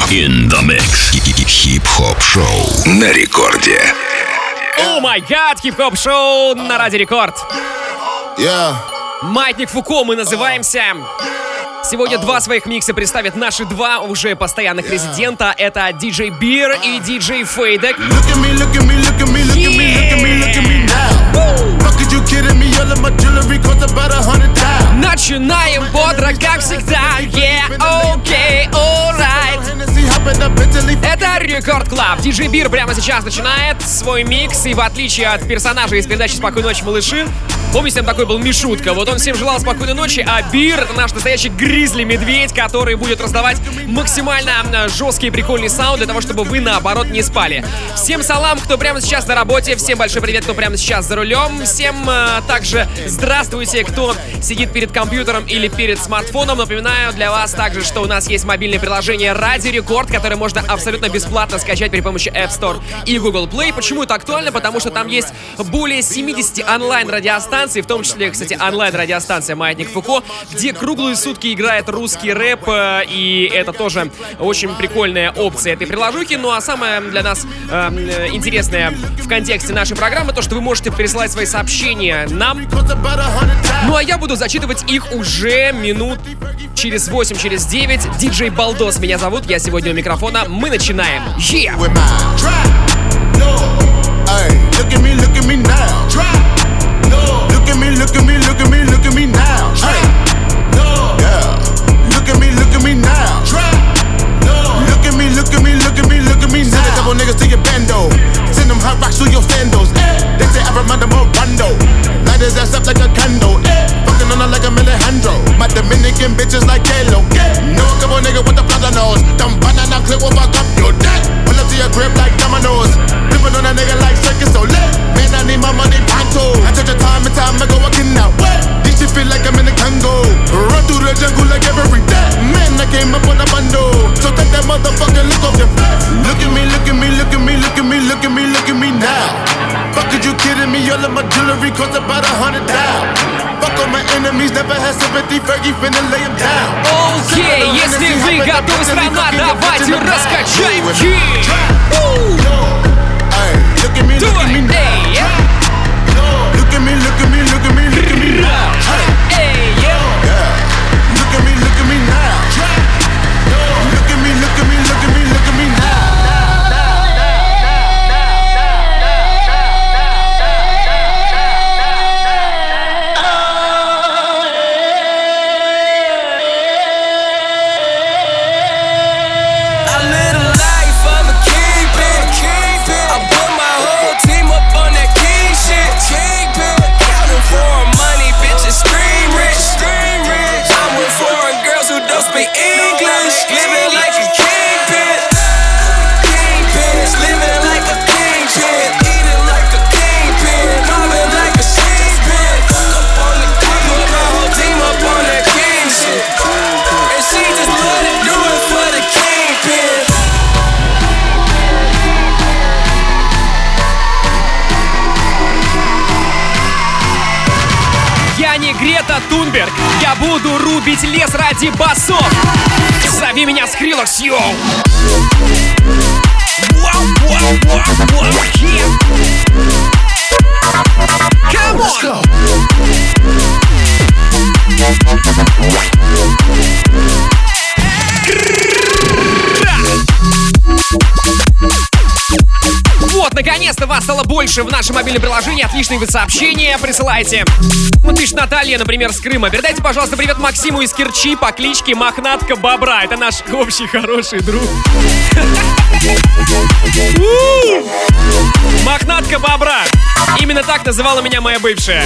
In the mix. Хип-хоп шоу на рекорде. О май гад, хип-хоп шоу на Радио Рекорд. Маятник Фуко мы называемся. Сегодня два своих микса представят наши два уже постоянных резидента. Это диджей Бир и диджей Фейдек. Начинаем бодро, как всегда. Okay, alright. Это Рекорд Клаб. Диджей Бир прямо сейчас начинает свой микс. И в отличие от персонажа из передачи «Спокойной ночи, малыши», помните, там такой был Мишутка. Вот он всем желал спокойной ночи, а Бир — это наш настоящий гризли-медведь, который будет раздавать максимально жесткий и прикольный саунд для того, чтобы вы, наоборот, не спали. Всем салам, кто прямо сейчас на работе, всем большой привет, кто прямо сейчас за рулем, всем также здравствуйте, кто сидит перед компьютером или перед смартфоном. Напоминаю для вас также, что у нас есть мобильное приложение Радио Рекорд, которое можно абсолютно бесплатно скачать при помощи App Store и Google Play. Почему это актуально? Потому что там есть более 70 онлайн-радиостанций, в том числе, кстати, онлайн-радиостанция «Маятник Фуко», где круглые сутки играет русский рэп, и это тоже очень прикольная опция этой приложухи. Ну а самое для нас интересное в контексте нашей программы то, что вы можете присылать свои сообщения нам. Ну а я буду зачитывать их уже минут через 8, через 9. Диджей Балдос меня зовут, я сегодня у микрофона. Мы начинаем. Look at me now. Hey. Yeah. Look at me now. Look at me now. Send a couple niggas to your bando. Send them hot rocks through your sandals. They say I remind them of Rondo. Light his ass up like a candle. Fucking on her like a Alejandro. My Dominican bitches like Kalo. Know a couple niggas with the plaza nose. Dumb banana clip will fuck up your neck. Pull up to your crib like dominoes. Flipping on a nigga like circus so lit. Man, I need my money pronto. I took your time and time ago, I cannot wait. This shit feel like I'm in the Congo. Run through the jungle like every day. Man, I came up on a bundle. So take that motherfucking look off your face. Look at me now. Fuck, are you kidding me? All of my jewelry cost about 100,000. Fuck all my enemies, never had sympathy. Fergie finna lay him down. Окей, если вы готовы, страна, давайте раскачаем. Look at me now. Look at me now. Hey, yeah. Look at me now. Look at me now. Тунберг, я буду рубить лес ради басов. Зови меня Скриллекс, йоу. Come on. Вот, наконец-то вас стало больше в нашем мобильном приложении. Отличные вы сообщения присылайте. Вот пишет Наталья, например, с Крыма. Передайте, пожалуйста, привет Максиму из Керчи по кличке Мохнатка Бобра. Это наш общий хороший друг. Мохнатка Бобра. Именно так называла меня моя бывшая.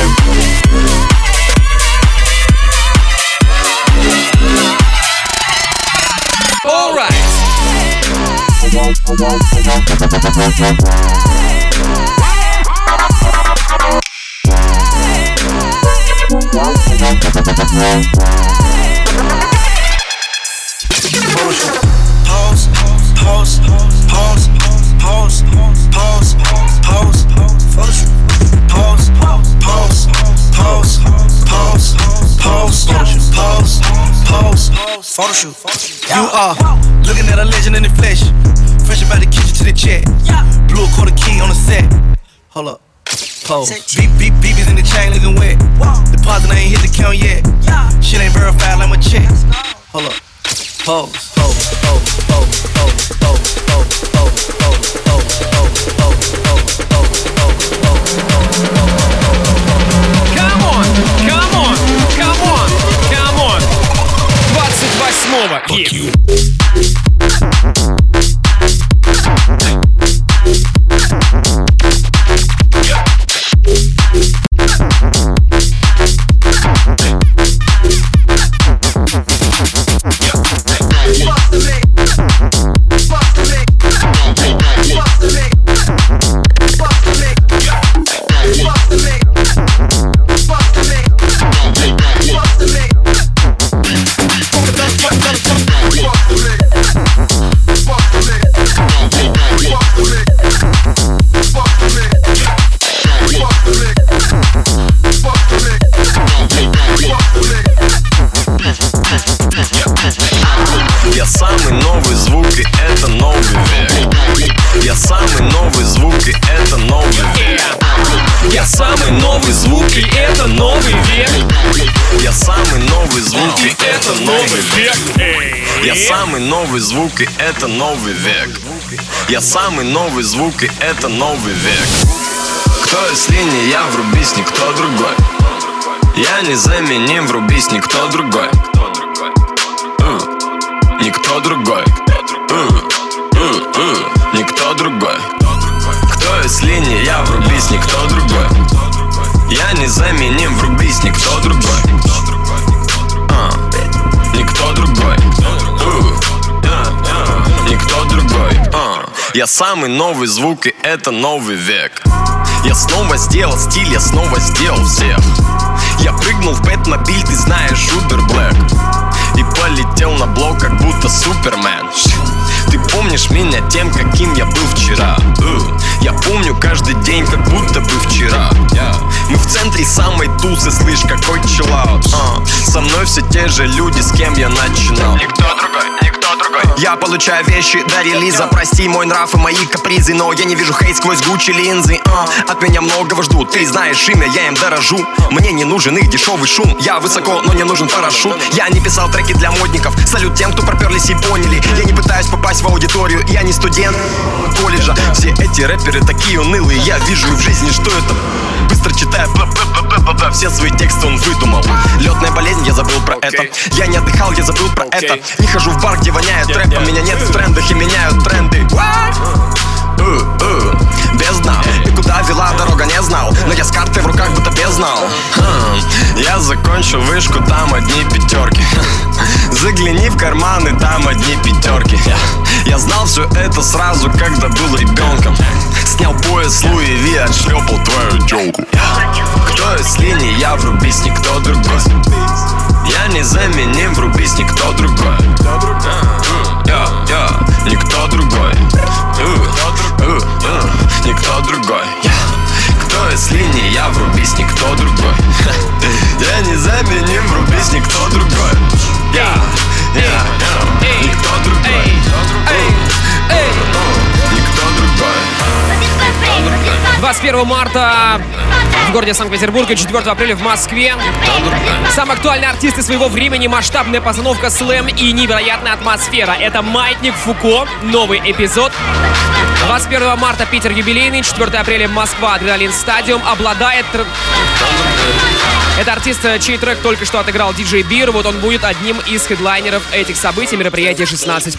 All right. Photoshoot. You are looking at a legend in the flesh. Fresh about the kitchen to the check. Blue a quarter key on the set. Hold up. Pose. Beep in the chain looking wet. Deposit I ain't hit the count yet. Shit ain't verified like my check. Hold up. Pose. Come on. 28-го. Я самый новый звук, и это новый век. Я самый новый звук, и это новый век. Я самый новый звук, и это новый век. Я самый новый звук, и это новый век. Я век. самый новый звук, и это новый век. Я самый новый звук, и это новый век. Кто если не я, врубись никто другой. Я незаменим, врубись никто другой. Никто другой. Никто другой. Кто если не я, врубись никто другой. Я незаменим, врубись никто другой. Никто другой. Никто другой. Я самый новый звук, и это новый век. Я снова сделал стиль, я снова сделал всех. Я прыгнул в Бэтмобиль, ты знаешь, Убер Блэк. И полетел на блок, как будто Супермен. Ты помнишь меня тем, каким я был вчера. Я помню каждый день, как будто бы вчера. Мы в центре самой тусы, слышь, какой чиллаут. Со мной все те же люди, с кем я начинал. Никто другой, никто другой. Я получаю вещи до релиза. Прости мой нрав и мои капризы, но я не вижу хейт сквозь Гуччи линзы. От меня многого ждут, ты знаешь имя, я им дорожу. Мне не нужен их дешевый шум. Я высоко, но не нужен парашют. Я не писал треки для модников. Салют тем, кто проперлись и поняли. Я не пытаюсь попасть в аудиторию, я не студент колледжа. Все эти рэперы такие унылые. Я вижу в жизни, что это. Быстро читая все свои тексты он выдумал. Летная болезнь, я забыл про это. Я не отдыхал, я забыл про это. Не хожу в бар, где воняет рэпом. Меня нет в трендах и меняют тренды. Без дна. И куда вела дорога, не знал. Но я с картой в руках, будто беззнал. Я закончил вышку, там одни пятерки. Загляни в карманы, там одни пятерки. Я знал все это сразу, когда был ребенком. Снял пояс Луи Ви, отшлепал твою тёлку. Кто если не я, врубись никто другой. Я незаменим, врубись никто другой. Никто другой. Никто другой. Кто если не я, врубись никто другой. Я незаменим, врубись никто другой. Никто другой. Никто другой. 21 марта в городе Санкт-Петербург и 4 апреля в Москве. Самые актуальные артисты своего времени, масштабная постановка слэм и невероятная атмосфера. Это «Маятник Фуко», новый эпизод. 21 марта Питер юбилейный, 4 апреля Москва, Адреналин Стадиум. Обладает... Это артист, чей трек только что отыграл диджей Бир. Вот он будет одним из хедлайнеров этих событий, мероприятия 16+.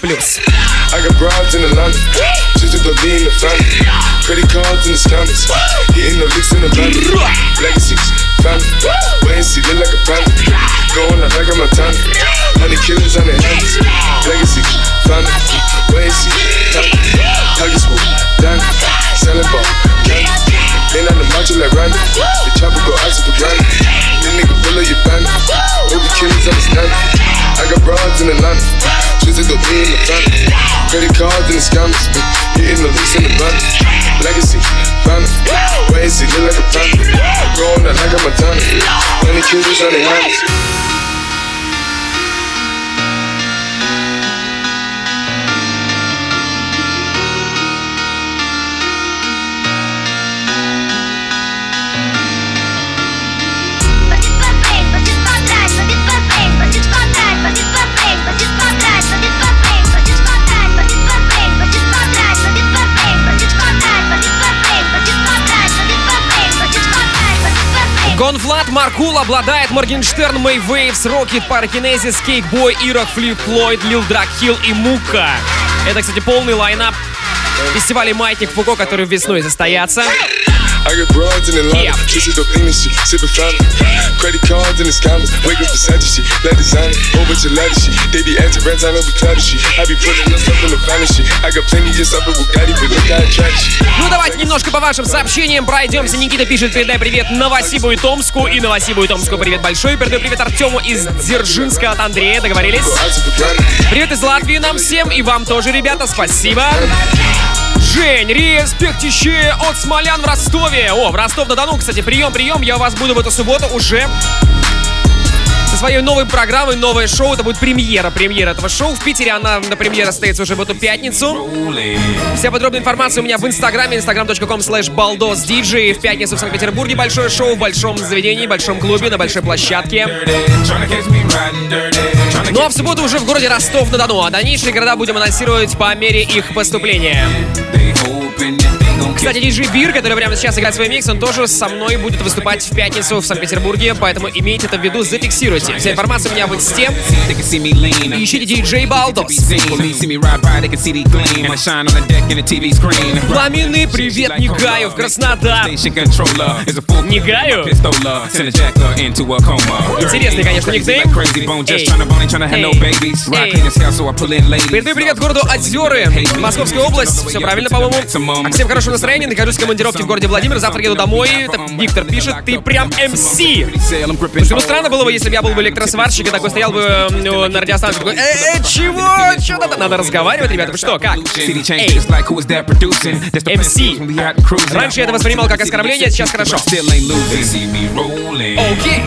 Credit cards in the scammers, hitting the licks in the van. Legacies, family, wait and see, look like a panda. Going out like a Montana, 100 killers on their hands. Legacy, family, wait and see, target swoop, down, selling ball, candy. Lean on the macho like Randy, the chopper go out to the granny. This nigga pull up your bandit, hope the killers understand it. I got broads in Atlanta, twisted the B in the family. Credit cards in the scammers, hitting the licks in the van. Legacy, family, wait and see, look like a panda. Going out like a Montana, 100 killers on their hands. Гон Влад, Маркул обладает, Моргенштерн, Мэй Вейвс, Рокет, Паракинезис, Кейкбой, Ирок, Флип Флойд, Лил Драг Хилл и Мука. Это, кстати, полный лайнап фестиваля «Маятник Фуко», который весной состоятся. I got broads in Atlanta, kissing dope in shit, sipping fountain. Credit cards in the scammers, wake up beside shit, let design it, over to ladder shit. They be acting rats, I know we clouded shit. I be putting us up in the finest shit. I got plenty just up with Bugatti, but look at attraction. Ну давайте немножко по вашим сообщениям пройдемся. Никита пишет: передай привет Новосибу и Томску. И Новосибу и Томску привет большой. Передаю привет Артему из Дзержинска от Андрея. Договорились? Привет из Латвии нам всем. И вам тоже, ребята, спасибо. Жень, респектище от смолян в Ростове. О, в Ростов-на-Дону, кстати, прием. Я у вас буду в эту субботу уже со своей новой программой, новое шоу. Это будет премьера этого шоу. В Питере она на премьера состоится уже в эту пятницу. Вся подробная информация у меня в инстаграме, instagram.com/baldosdj. В пятницу в Санкт-Петербурге большое шоу в большом заведении, большом клубе, на большой площадке. Ну а в субботу уже в городе Ростов-на-Дону. А дальнейшие города будем анонсировать по мере их поступления. Кстати, диджей Бир, который прямо сейчас играет свой микс, он тоже со мной будет выступать в пятницу в Санкт-Петербурге, поэтому имейте это в виду, зафиксируйте. Вся информация у меня в инсте. Ищите диджей Балдос. Пламенный привет Нигаю в Краснодар. Нигаю? Интересный, конечно, никнейм. Передаю привет городу Озеры, Московская область. Все правильно, по-моему. А всем хорошего настроения. Нахожусь в командировке в городе Владимир. Завтра еду домой. Это Виктор пишет: ты прям МС. Слушай, ну странно было бы, если бы я был бы электросварщик и такой стоял бы на радиостанции. Такой: чего? Что надо разговаривать, ребята? Вы что, как? МС. Раньше я это воспринимал как оскорбление, сейчас хорошо. Окей.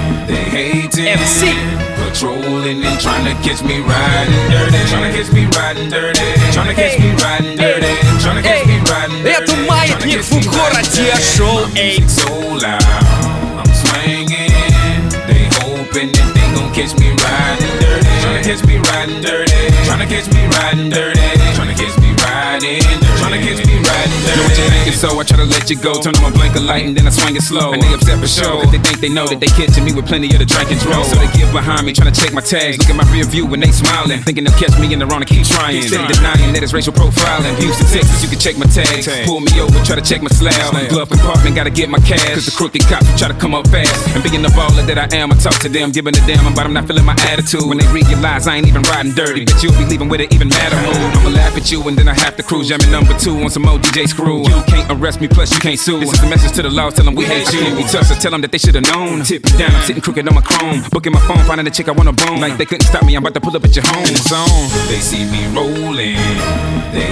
МС. Patrolling and trying to catch me riding dirty. Trying to catch me riding dirty. Trying to catch me riding dirty. Trying to catch me riding dirty. Это маятник Фуко радиошоу. So loud, I'm swinging. They hoping that they gon' catch me riding dirty. Trying to catch me riding dirty. Trying to catch me riding dirty. Trying to catch me riding dirty. Trying to catch me riding dirty. Know what you thinking, so I try to let you go. Turn on my blinker light and then I swing it slow. And they upset for sure, cause they think they know that they catching me with plenty of the drink and draw. So they get behind me, trying to check my tags. Look at my rear view when they smiling, thinking they'll catch me in the wrong and keep trying. Steady denying that it's racial profiling. Houston, Texas, you can check my tags. Pull me over, try to check my slab. Glove compartment, gotta get my cash. Cause the crooked cops try to come up fast. And being the baller that I am, I talk to them, giving a damn about them not feeling my attitude. When they realize I ain't even riding dirty, but you'll be leaving with an even madder mood. I'ma laugh at you and then I have to cruise. Jamming number 2 on some more DJ screw. You can't arrest me, plus you can't sue. This is a message to the law, tell them we hate you. We tough, so tell them that they should've known. Tip it down, I'm sitting crooked on my chrome. Booking my phone, finding a chick I wanna bone. Like they couldn't stop me, I'm about to pull up at your home zone. They see me rolling, they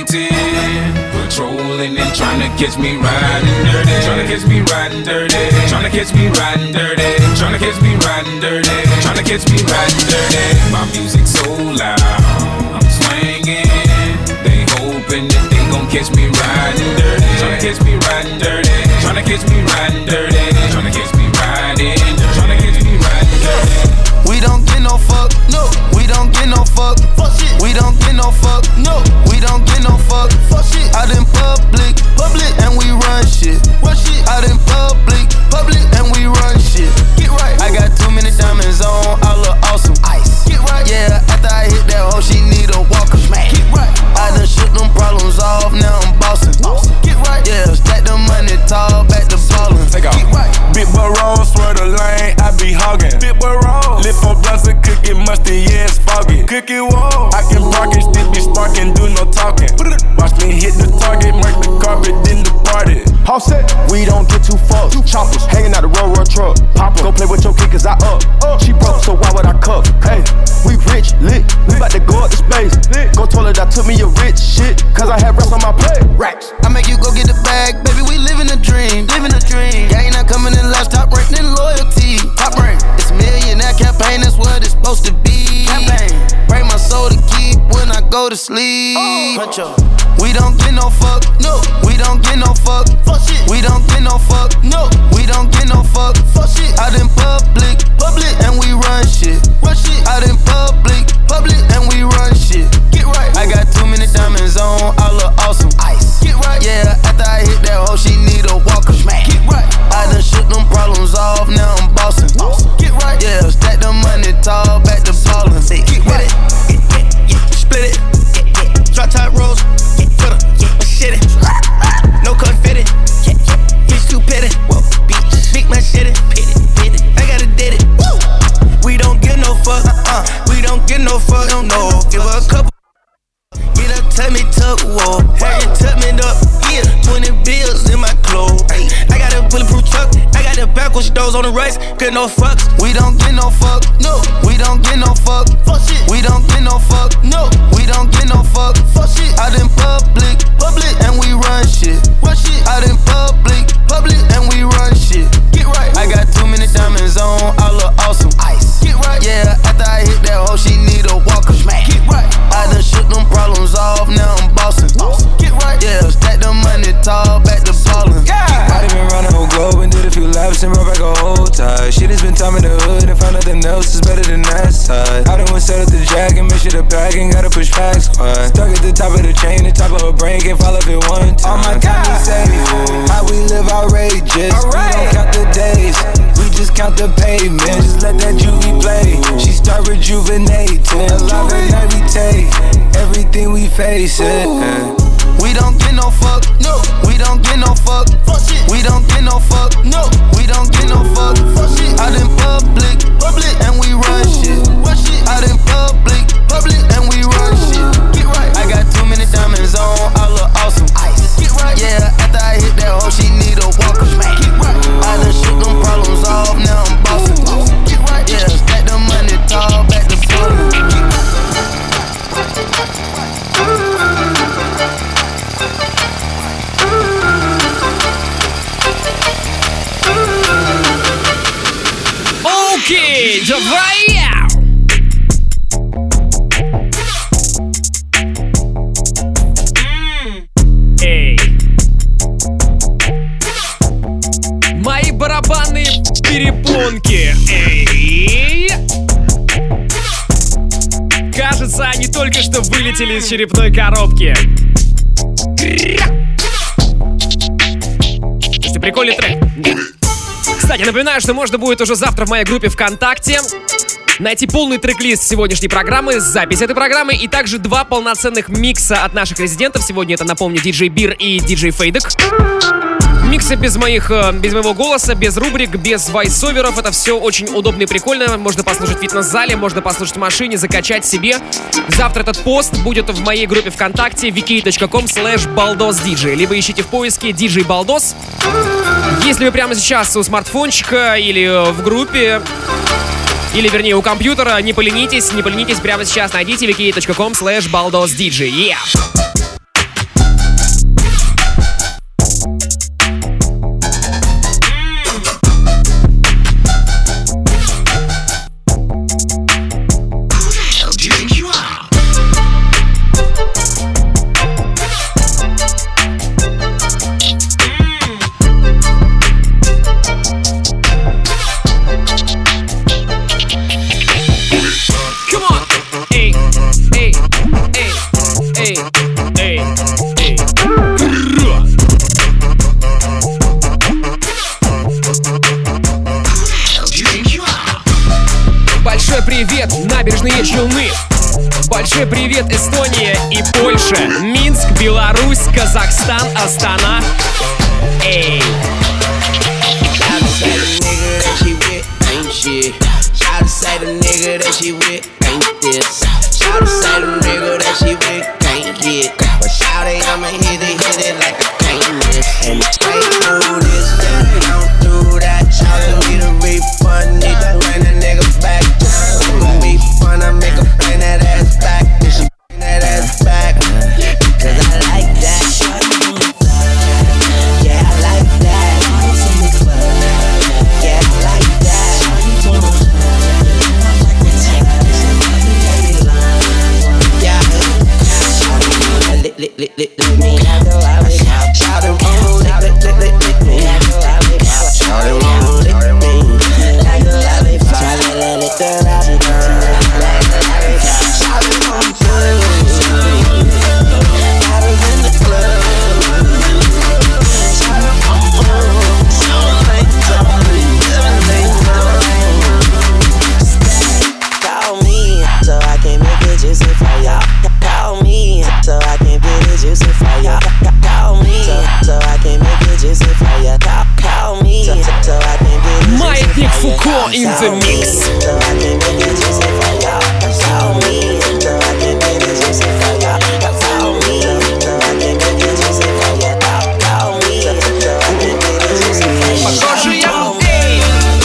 hating. Patrolling and trying to catch me riding dirty. Trying to catch me riding dirty. Trying to catch me riding dirty. Trying to catch me riding dirty. Trying to catch me riding dirty. My music so loud, I'm swinging. They hoping that they gon' catch me riding dirty. Tryna catch me riding dirty. Tryna catch me riding dirty. Tryna catch me riding dirty. Tryna catch me riding dirty. We don't get no fuck, no. We don't get no fuck, fuck shit. We don't get no fuck, no. We don't get no fuck, fuck shit. Out in public, and we run shit. Run shit. Out in public, and we run shit. Get right. I got too many diamonds on, I look awesome. Ice. Get right. Yeah, after I hit that hoe, she need a walker. Smack. Get right. I done shook them problems off, now I'm bossing. Get right. Yeah, stack the money tall, back to ballin'. Take off. Get right. Big boy roll, swear the lane, I be hogging. Big boy roll, lift for blunts and cookie musty, yeah, it's foggy. Cookie wall, I can park it, still be sparking, do no talking. Watch me hit the target, mark the carpet, then the party. All set, we don't get too fucked. Choppers hanging out the road truck. Pop go play with your kid cause I up. She broke, so why would I cuff? Hey, we rich, lit, we bout to go up to space. Go toilet, I took me a rich shit, cause I had racks on my plate. Racks. I make you go get the bag, baby, we living a dream. Living a dream. Gang not coming in last, top rank, then loyalty. Top rank. It's a millionaire campaign, that's what it's supposed to be. Campaign. Break my soul to keep when I go to sleep. We don't get no fuck, no. We don't get no fuck, fuck shit. We don't get no fuck, no. We don't get no fuck, fuck shit. Out in public, and we run shit. Run shit. Out in public, and we run shit. Get right. I got too many diamonds on, I look awesome. Ice. Get right. Yeah, after I hit that hoe, she need a walker. Smack. Get right. I done shook them problems off, now zeros on the race, get no fucks. We don't get no fuck, no. We don't get no fuck, fuck shit. We don't get no fuck, no. We don't get no fuck, fuck shit. Out in public, and we run shit. Run shit. Out in public, and we run shit. Get right. I got too many diamonds on, I look awesome. Ice. Get right. Yeah, after I hit that hoe, she need a walker. Get right. I done shook them problems off, now I'm bossing. Get right. Yeah, stack the money tall, back to ballin'. Yeah. I done been around the whole globe and did a few laps and brought back a whole tie. Shit has been time in the hood and found nothing else is better than that side. I done went set up the jack and make sure the pack and gotta push back squad. Stuck at the top of the chain, the top of her brain can't fall off it one time. All my time is saved. How we live outrageous. We don't count the days, we just count the pavement. Just let that juvie play. She start rejuvenating. Alive and meditate. Everything we face it. We don't get no fuck, no. We don't get no fuck, fuck shit. We don't get no fuck, no. We don't get no fuck, fuck shit. Out in public, and we run shit. Run shit. Out in public, and we run shit. Get right. I got too many diamonds on, I look awesome. Ice. Get right. Yeah, after I hit that hoe, she need a walker. Get right. I done shook them problems off, now I'm bossing. Get right. Yeah, stack the money tall, back to ballin'. Get right. Окей, давай! Эй! Мои барабанные перепонки! Эй! Кажется, они только что вылетели из черепной коробки. Слушайте, прикольный трек. Кстати, напоминаю, что можно будет уже завтра в моей группе ВКонтакте найти полный трек-лист сегодняшней программы, запись этой программы и также 2 полноценных микса от наших резидентов. Сегодня это, напомню, DJ Бир и DJ Фейдек. Миксы без моего голоса, без рубрик, без войсоверов. Это все очень удобно и прикольно. Можно послушать в фитнес-зале, можно послушать в машине, закачать себе. Завтра этот пост будет в моей группе ВКонтакте vk.com/baldosdj. Либо ищите в поиске DJ Baldos. Если вы прямо сейчас у смартфончика или в группе, или, вернее, у компьютера, не поленитесь прямо сейчас найдите vk.com/baldosdj. Yeah! Большой привет, набережные Челны. Большой привет, Эстония и Польша. Минск, Беларусь, Казахстан, Астана. Эй! Shout say the nigga that she with ain't this. Shout say the nigga that she with can't hit. But shout it, I'ma hit it like I can't miss. And straight through this, don't do that. Shout it, need a refund, need to bring that nigga back. It's gon' be fun, I make her bring that ass back. Then she bring that ass back, cause I like that. Yeah, I like that. Yeah, I like that. Let me have the light. Shout it, let me have the light. Shout it, let me have the light. Shout it, let the light burn. Shout it, I'm through. Bottles in the club. Shout it, I'm through. Call me so I can make it juicy for y'all. Call me so I can make it juicy for y'all. Call me so I can make it juicy for y'all. Call me so I can make it juicy for y'all. Маятник Фуко in the mix. So I can make it juicy for y'all. Call me so I can make it juicy for y'all. Call me so I can make it juicy for y'all. Call me so I can make it juicy for y'all. Похоже, я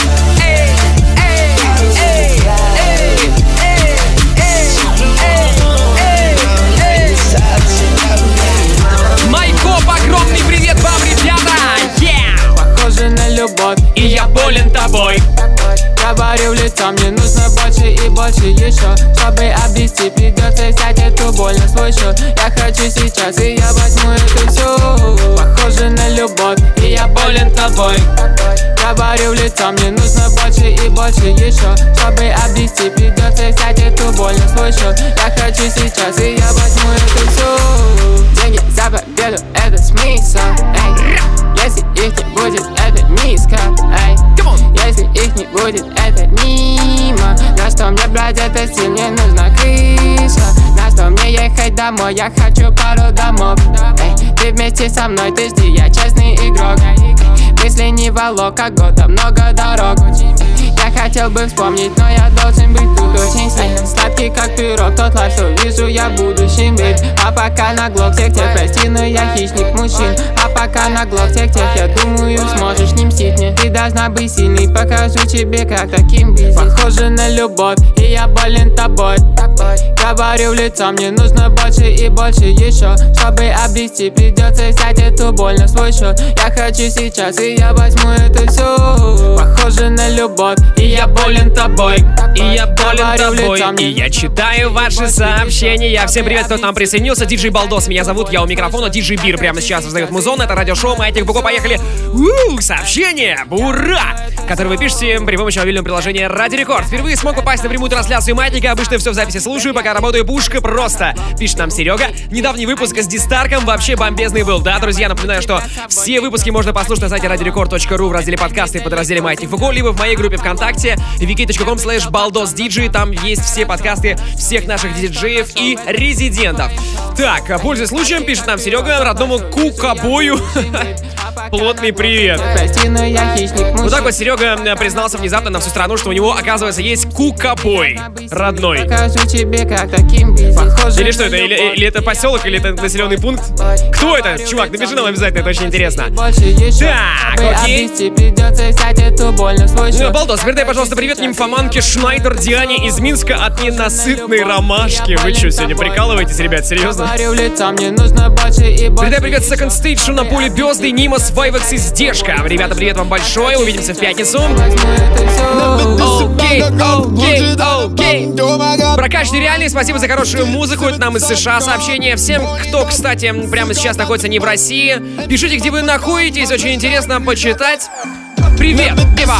лицо, мне нужно больше и больше еще. Чтобы обрести, придется взять эту боль на свой счет. Я хочу сейчас, и я возьму это все. Похоже на любовь, и я болен тобой. Говорю в лицо, мне нужно больше и больше еще. Чтобы обрести, придется взять эту боль на свой счет. Я хочу сейчас, и я возьму это все. Деньги за победу, это смысл, эй. Если их не будет, это низко, эй. Если их не будет, это мимо. На что мне брать это стиль, мне нужна крыша. На что мне ехать домой, я хочу пару домов, эй. Ты вместе со мной, ты жди, я честный игрок. Мысли не волок, как года, много дорог. Я хотел бы вспомнить, но я должен быть тут очень сильным. Сладкий как пирог, тот лайф, что вижу я в будущем, бейб. А пока на глок всех тех, прости, но я хищник мужчин. А пока на глок всех тех, я думаю, сможешь не мстить мне. Ты должна быть сильной, покажу тебе, как таким быть. Похоже на любовь, и я болен тобой. Говорю в лицо, мне нужно больше и больше еще. Чтобы обрести, придется взять эту боль на свой счет. Я хочу сейчас, и я возьму это все. Похоже на любовь, и я болен тобой. И я болен тобой, и я читаю ваши сообщения. Всем привет, кто к нам присоединился. Диджей Балдос меня зовут, я у микрофона. Диджей Бир прямо сейчас раздает музон. Это радиошоу Маятник Фуко. Поехали. Сообщение, ура! Которое вы пишете при помощи мобильного приложения Ради Рекорд. Впервые смог попасть на прямую трансляцию Маятника. Обычно все в записи слушаю, пока работаю, пушка просто. Пишет нам Серега. Недавний выпуск с Дистарком вообще бомбезный был. Да, друзья, напоминаю, что все выпуски можно послушать на сайте radiorecord.ru в разделе подкасты в подразделе Маятник Фуко, либо в моей группе ВКонтакте wiki.com/baldosdj. Там есть все подкасты всех наших диджеев и резидентов. Так, пользуясь случаем, пишет нам Серега, родному Кукабою. Плотный привет. Вот так вот Серега признался внезапно на всю страну, что у него, оказывается, есть Кукабой родной. Или что это? Или это поселок, или это населенный пункт? Кто это? Чувак, напиши нам обязательно, это очень интересно. Так, окей. Балдос, передай, пожалуйста, привет нимфоманке Шнайдер Диане из Минска от ненасытной ромашки. Вы что, сегодня прикалываетесь, ребят, серьезно? Передай привет Second Stage на поле Безды, Нимас, Вайвекс и Здешка. Ребята, привет вам большое, увидимся в пятницу. Окей. Прокач нереальный, спасибо за хорошую музыку, это нам из США сообщение. Всем, кто, кстати, прямо сейчас находится не в России, пишите, где вы находитесь, очень интересно почитать. Привет, Ива!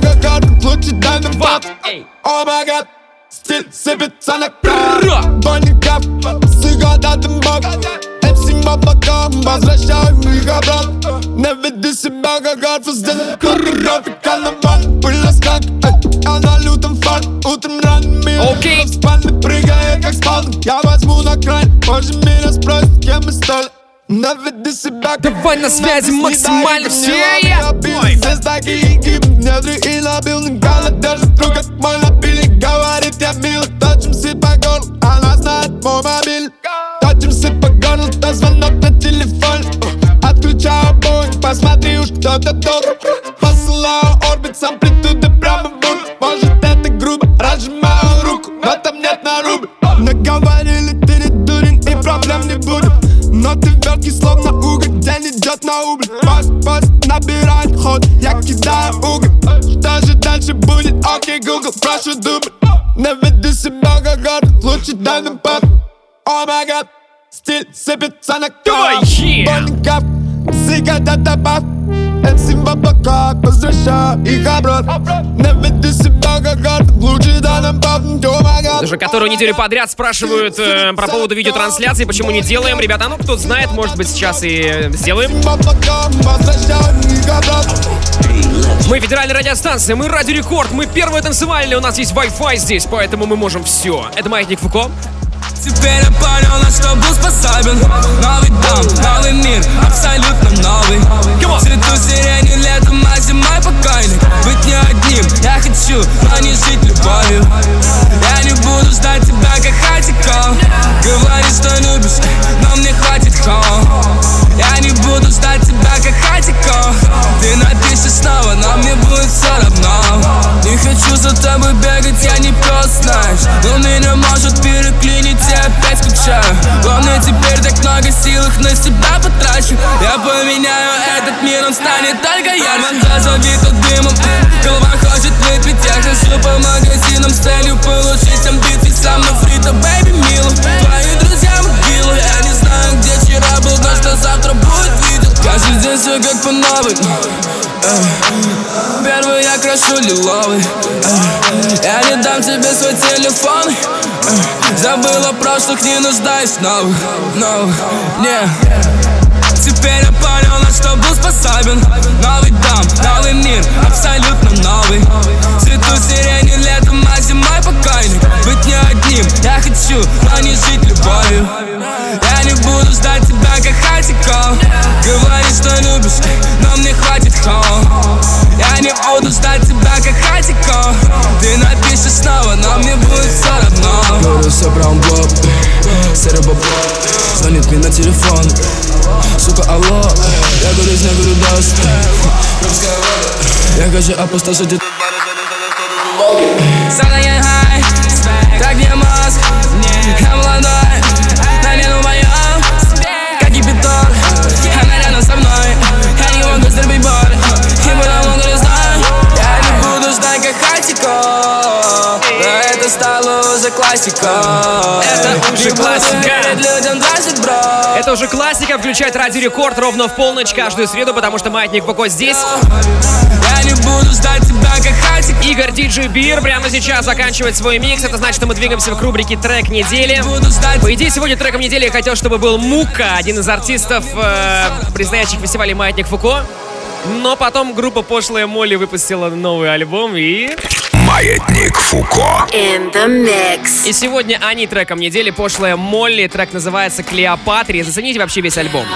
Стиль сыпется на край. Бонников, сыгодатым бог. МС облаком, возвращаем их обратно. Не веди себя как арфа, сделай курировка на ван. Пыль скак, а на лютом фан. Утром ранними в спальне прыгает как спал. Я возьму на край, позже меня спросят, кем мы стали. Наведи себя, давай на связи максимально все. Здесь такие гибы, недри и набилный галет. Держит руку, как мой напильник. Говорит, я милый, точимся по горлу. Она знает мой мобиль. Точимся по горлу, то звонок на телефон. Отключаю бой, посмотри уж кто-то тут. Посылаю орбит с амплитудой прямо в бок. Может это грубо, разжимаю руку, но там нет на рубль. Наговорили, ты не дурень и проблем не будет. Но ты верткий, словно уголь, день идет на убыль. Пост набирает ход, я кидаю уголь. Что же дальше будет? Окей, Google, прошу дубль. Не веди себя как город, лучше дай нам пап. О май гад, стиль сыпется на край. Бонников, сигарета добавь. МС в облаках, возвращаю их обратно. Не веди себя как город, лучше дай нам пап. О май гад. Уже которую неделю подряд спрашивают про поводу видеотрансляции, почему не делаем. Ребята, ну кто знает, может быть сейчас и сделаем. Мы федеральная радиостанция, мы Радио Рекорд, мы первые танцевальные, у нас есть Wi-Fi здесь, поэтому мы можем все. Это Маятник Фуко. Теперь я понял, на что был способен. Новый дом, новый мир, абсолютно новый. Цвету сирени летом, а зимой покойник. Быть не одним, я хочу, но не жить любовью. Я не буду ждать тебя, как хатиков. Говори, что любишь, но мне хватит холм. Я не буду ждать тебя, как хатиков. Ты напишешь снова, но мне будет все равно. Не хочу за тобой бегать, я не пес, знаешь. Но меня может переклинить, я опять скучаю. Главное, теперь так много сил, их на себя потрачу. Я поменяю этот мир, он станет только ярче. Глаза забиты дымом, голова хочет выпить, я же Хожу по магазинам с целью получить амбиции. Сам на фрита, бэйби, мило. Твои друзья могилы. Я не знаю, где вчера был, но что завтра будет, видел. Каждый день все как по новой. Первый я крашу лиловый. Я не дам тебе свой телефон. Забыл о прошлых, не нуждаюсь в новых, не. Теперь я понял, на что был способен. Новый дом, новый мир, абсолютно новый. Цвету сирени летом, а зимой покойник. Быть не одним, я хочу, но не жить любовью. Я не буду ждать тебя, как Хатико. Говори, что любишь, но мне хватит холм. Я не буду ждать тебя, как Хатико. Ты напишешь снова, но мне будет все равно. Говорю, все браун блок, серый бабло. Звонит мне на телефон. Сука, алло, я говорю, я говорю, дождь. Крымская вода. Я хочу опустошить этот Задание хай, так не мозг. Я молодой, на лену моем. Как кипяток, она рядом со мной. Я не могу стерпеть боль, и потому не знаю. Я не буду ждать, как Хатико. Да это стало уже классика. Это уже классика. Людям дрожит, бро. Это уже классика, включает Радио Рекорд ровно в полночь каждую среду, потому что Маятник Фуко здесь. Я не буду ждать тебя, как Хатик. Игорь DJ Beer прямо сейчас заканчивает свой микс. Это значит, что мы двигаемся к рубрике «Трек недели». По идее, сегодня треком недели я хотел, чтобы был Мука, один из артистов, предстоящих фестивалей Маятник Фуко. Но потом группа Пошлая Молли выпустила новый альбом и... Маятник Фуко. In the mix. И сегодня они треком недели. Пошлая Молли. Трек называется «Клеопатри». Зацените вообще весь альбом.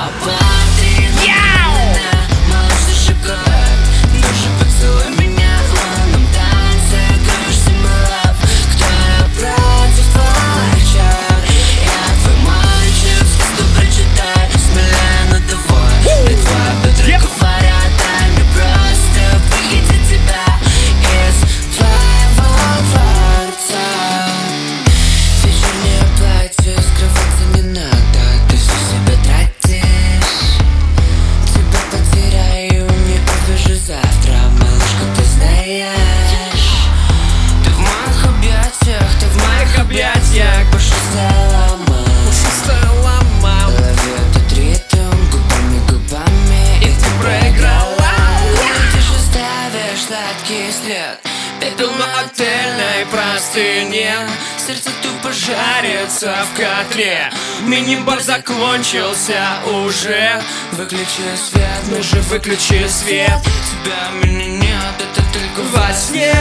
Сердце тупо жарится в котле. Мини-бар закончился уже. Выключи свет, ну же выключи свет. Тебя меня нет, это только во сне.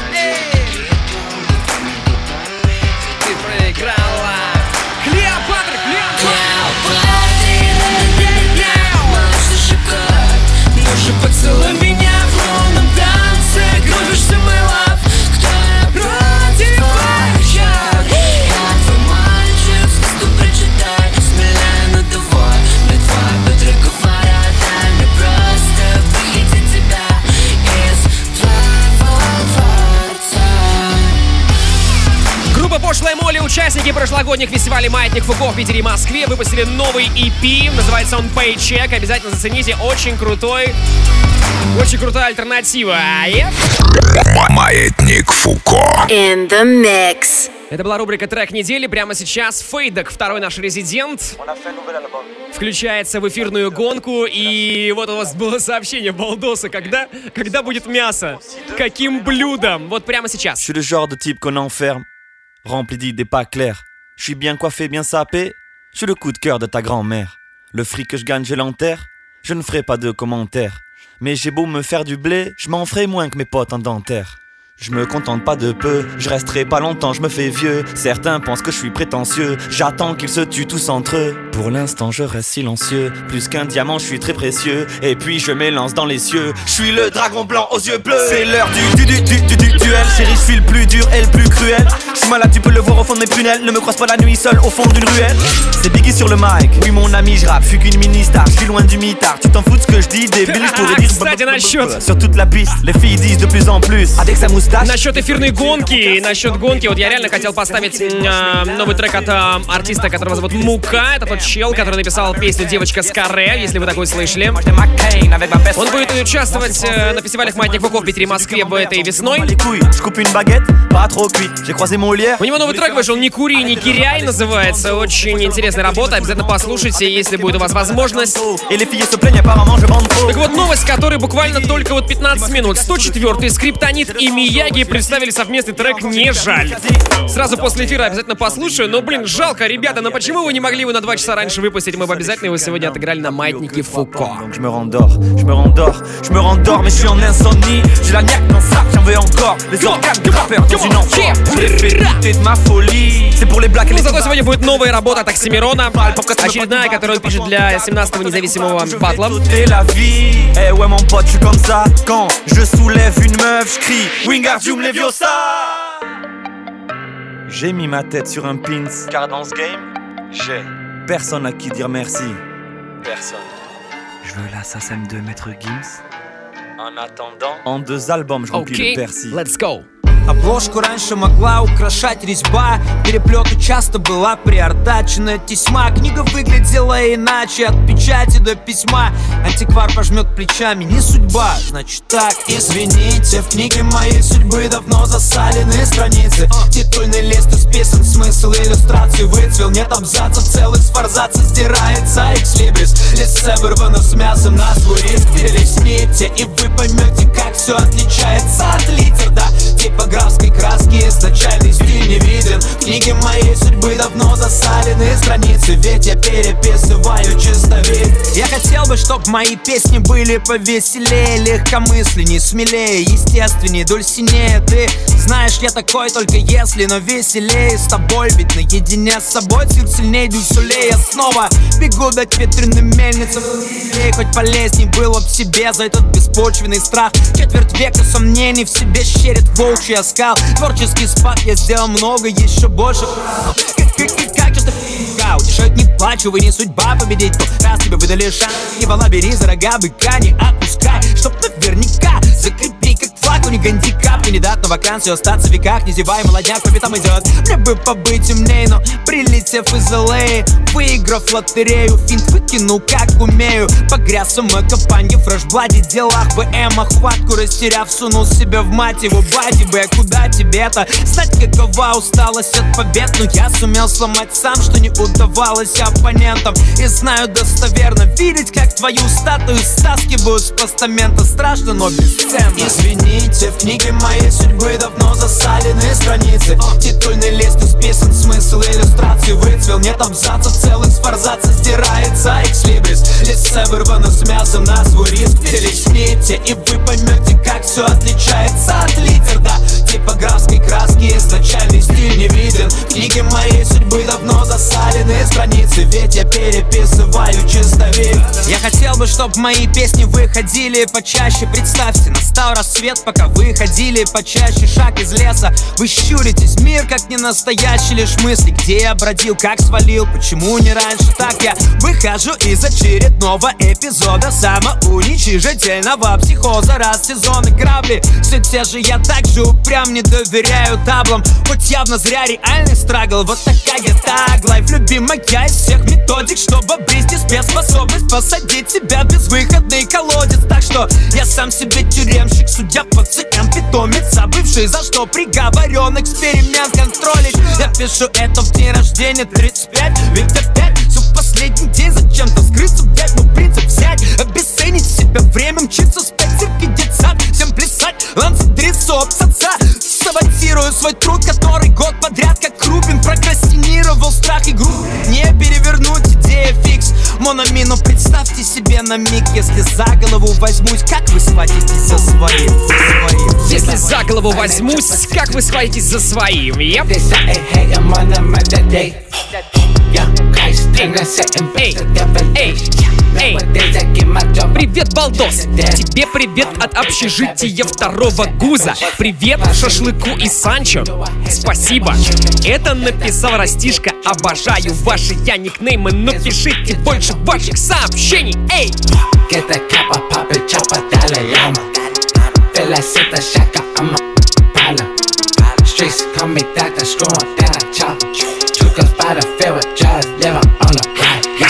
Ты проиграла. Клеопатра, Клеопатра, малыш, шоколад. Ну же поцелуй меня в лунном танце. Кружишься, мой лав. Кто я против очаг? Я твой мальчик, сказку прочитай. Смелее надувай, мне твои бедра говорят. Дай мне просто выйти тебя из твоего дворца. Группа Пошлая Молли, участники прошлогодних фестивалей Маятник Фуко в Питере и Москве, выпустили новый EP, называется он Paycheck. Обязательно зацените, очень крутая альтернатива. Маятник Фуко. In the mix. Это была рубрика «Трек недели». Прямо сейчас Фейдок, второй наш резидент, включается в эфирную гонку. И вот у вас было сообщение Балдоса, когда будет мясо, каким блюдом. Вот прямо сейчас. Je suis le genre de type qu'on enferme, rempli d'idées pas claires. Je suis bien coiffé, bien sapé. Je suis le coup de cœur de ta grand-mère. Le fric que je gagne, je l'enterre. Je ne ferai pas de commentaires. Mais j'ai beau me faire du blé, je m'en ferai moins que mes potes en dentaire. Je me contente pas de peu, je resterai pas longtemps, je me fais vieux. Certains pensent que je suis prétentieux, j'attends qu'ils se tuent tous entre eux. Pour l'instant je reste silencieux, plus qu'un diamant je suis très précieux. Et puis je m'élance dans les cieux, je suis le dragon blanc aux yeux bleus. C'est l'heure du duel, chérie je suis le plus dur et le plus cruel. Je suis malade, tu peux le voir au fond de mes prunelles, ne me croise pas la nuit seul au fond d'une ruelle. C'est Biggie sur le mic, oui mon ami je rappe, je suis qu'une mini-star, je suis loin du mitard. Tu t'en fous de ce que je dis, débile, je pourrais dire sur toute la piste, les filles disent de plus en plus, avec sa moustache. Насчет эфирной гонки, насчет гонки, вот я реально хотел поставить новый трек от артиста, которого зовут Мука. Это тот чел, который написал песню «Девочка с каре», если вы такой слышали. Он будет участвовать на фестивалях «Маятник Фуко» в Питере и Москве этой весной. У него новый трек вышел «Не кури, не киряй» называется. Очень интересная работа, обязательно послушайте, если будет у вас возможность. Так вот, новость, которая буквально только вот 15 минут. 104-й Скриптонит и Мияги представили совместный трек «Не жаль». Сразу после эфира обязательно послушаю, но, блин, жалко, ребята, но почему вы не могли его на 2 часа раньше выпустить? Мы бы обязательно его сегодня отыграли на Маятнике Фуко. Ну, зато сегодня будет новая работа от Оксимирона, очередная, которую он пишет для 17-го независимого батла. J'ai mis ma tête sur un pins, car dans ce game, j'ai personne à qui dire merci. Personne. Je veux l'assassin de Maître Gims. En attendant, en 2 albums, je remplis le Percy. Let's go. Обложку раньше могла украшать резьба, переплету часто была приортачена тесьма. Книга выглядела иначе, от печати до письма. Антиквар пожмет плечами, не судьба, значит так. Извините, в книге моей судьбы давно засалены страницы. Титульный лист исписан, смысл иллюстрации выцвел. Нет абзацев целых, с форзаца сдирается экслибрис. Листе вырвано с мясом на свой риск. Перелистните, и вы поймете, как все отличается от литер, да. Типографской краски изначальный стиль не виден. В книге моей судьбы давно засалены страницы, ведь я переписываю чистовид. Я хотел бы, чтоб мои песни были повеселее, легкомысленней, смелее, естественнее, дульсинее. Ты знаешь, я такой только если, но веселее с тобой. Ведь наедине с собой цирк сильнее дюсулей. Я снова бегу дать ветреным мельницам. Хоть полезней было б себе за этот беспочвенный страх. Четверть века сомнений в себе щерит волчий оскал. Творческий спад, я сделал много, еще больше. Как часто утешать не плачу, вы не судьба победить. То раз тебе выдали шанс, не вала, бери за рога быка, не отпускай, чтоб наверняка закрепи как флаг. Не гандикап, кандидат на вакансию, остаться в веках. Не зевай, молодняк по пятам идет. Мне бы побыть умней, но прилетев из LA, выиграв лотерею, финт выкинул как умею. Погряз в самокопанье, фрешбладе, делах БМ, охватку растеряв, сунул себя в мать его бади бы. Куда тебе-то знать, какова усталость от побед? Но я сумел сломать сам, что не удавалось оппонентам. И знаю достоверно, видеть, как твою статую стаскивают с постамента. Страшно, но бесценно. Извините, в книге моей судьбы давно засалены страницы. Титульный лист исписан, смысл иллюстрации выцвел. Нет абзацев целых, с форзаца сдирается экслибрис. Листе вырвано с мясом на свой риск. Перелистните, и вы поймете, как все отличается от литер, да. Типографской краски изначальный стиль не виден. В книге моей судьбы давно засалены страницы, ведь я переписываю чистовид. Я хотел бы, чтоб мои песни выходили почаще. Представьте, настал рассвет, пока вы ходили почаще. Шаг из леса, вы щуритесь. Мир как не настоящий, лишь мысли. Где я бродил, как свалил, почему не раньше? Так я выхожу из очередного эпизода самоуничижительного психоза. Раз сезоны грабли, все те же, я также упрям, не доверяю таблам. Хоть явно зря реальный страгл. Вот такая таглайф, любимая из всех методик, чтобы обрести спецспособность посадить себя в безвыходный колодец. Так что я сам себе тюремщик, судья, пациент, питомец, забывший за что приговорен эксперимент контролить. Я пишу это в день рождения 35, ведь опять все последний день зачем-то скрыться, блять, ну принцип взять, обесценить себя, время мчится, спать, цирки, детсад, всем плясать, ланцедриться, обсаться. Саботирую свой труд, который год подряд как Рубин прокрастинировал страх и груб. Не перевернуть, идея фикс. Мономину, представьте себе на миг, если за голову возьмусь, как вы схватитесь за своим? Если за голову возьмусь, как вы схватитесь за своим? Эй, привет, балдос! Тебе привет от общежития 2-го ГУЗа. Привет шашлыку и Санчо. Спасибо. Это написал Растишка. Обожаю ваши я никнеймы, но пишите больше ваших сообщений. Эй! Streets call me doctor, screwing down a chop. Took us by the field with drugs, living on the block.